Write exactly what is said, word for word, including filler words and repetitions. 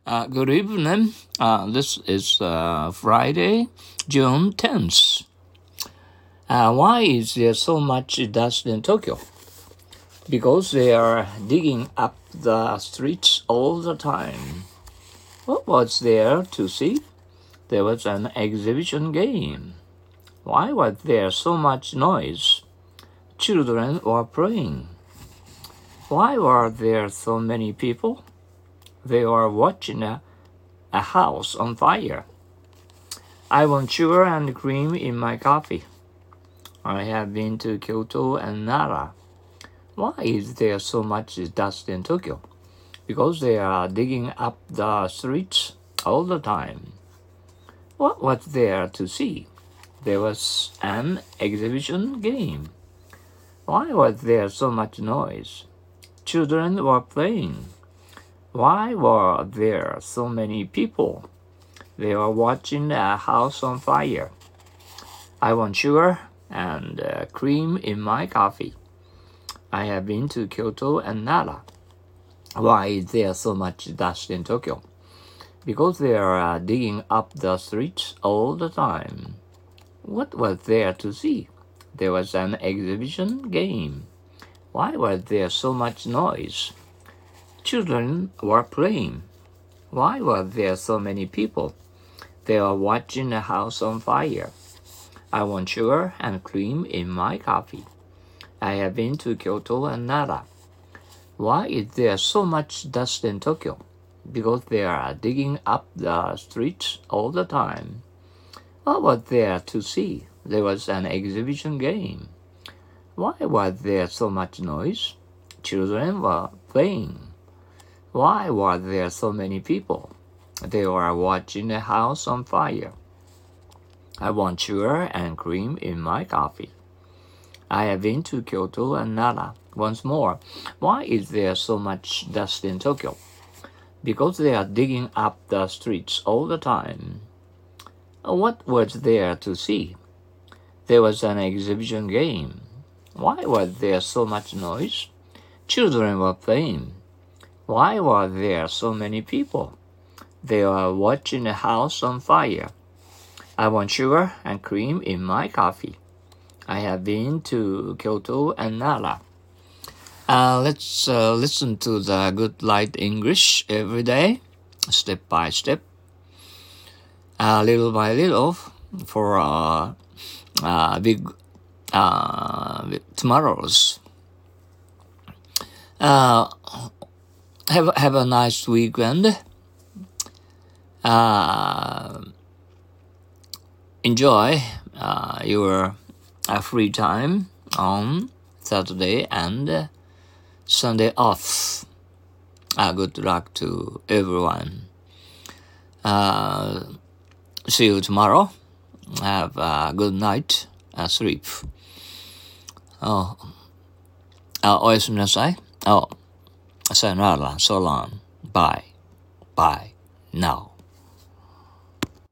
Uh, good evening. Uh, this is uh, Friday, June tenth. Uh, why is there so much dust in Tokyo? Because they are digging up the streets all the time. What was there to see? There was an exhibition game. Why was there so much noise? Children were playing. Why were there so many people? They were watching a, a house on fire. I want sugar and cream in my coffee. I have been to Kyoto and Nara. Why is there so much dust in Tokyo? Because they are digging up the streets all the time. What was there to see? There was an exhibition game. Why was there so much noise? Children were playing. Why were there so many people? They were watching a house on fire. I want sugar and uh, cream in my coffee. I have been to Kyoto and Nara. Why is there so much dust in Tokyo? Because they are uh, digging up the streets all the time. What was there to see? There was an exhibition game. Why was there so much noise? Children were playing. Why were there so many people? They were watching a house on fire. I want sugar and cream in my coffee. I have been to Kyoto and Nara. Why is there so much dust in Tokyo? Because they are digging up the streets all the time. What was there to see? There was an exhibition game. Why was there so much noise? Children were playing. Why were there so many people? They were watching a house on fire. I want sugar and cream in my coffee. I have been to Kyoto and Nara. Once more, why is there so much dust in Tokyo? Because they are digging up the streets all the time. What was there to see? There was an exhibition game. Why was there so much noise? Children were playing. Why were there so many people? They were watching a house on fire. I want sugar and cream in my coffee. I have been to Kyoto and Nara. Uh, let's uh, listen to the Good Light English every day, step by step, uh, little by little, for uh, uh, big uh, tomorrows. Uh, have have a nice weekend. Uh, enjoy uh, your uh, free time on Saturday and uh, Sunday off. Uh, good luck to everyone. Uh, see you tomorrow. Have a good night. Uh, sleep. Oh, uh, おやすみなさい. Oh, sayonara. So long. Bye. Bye. Now.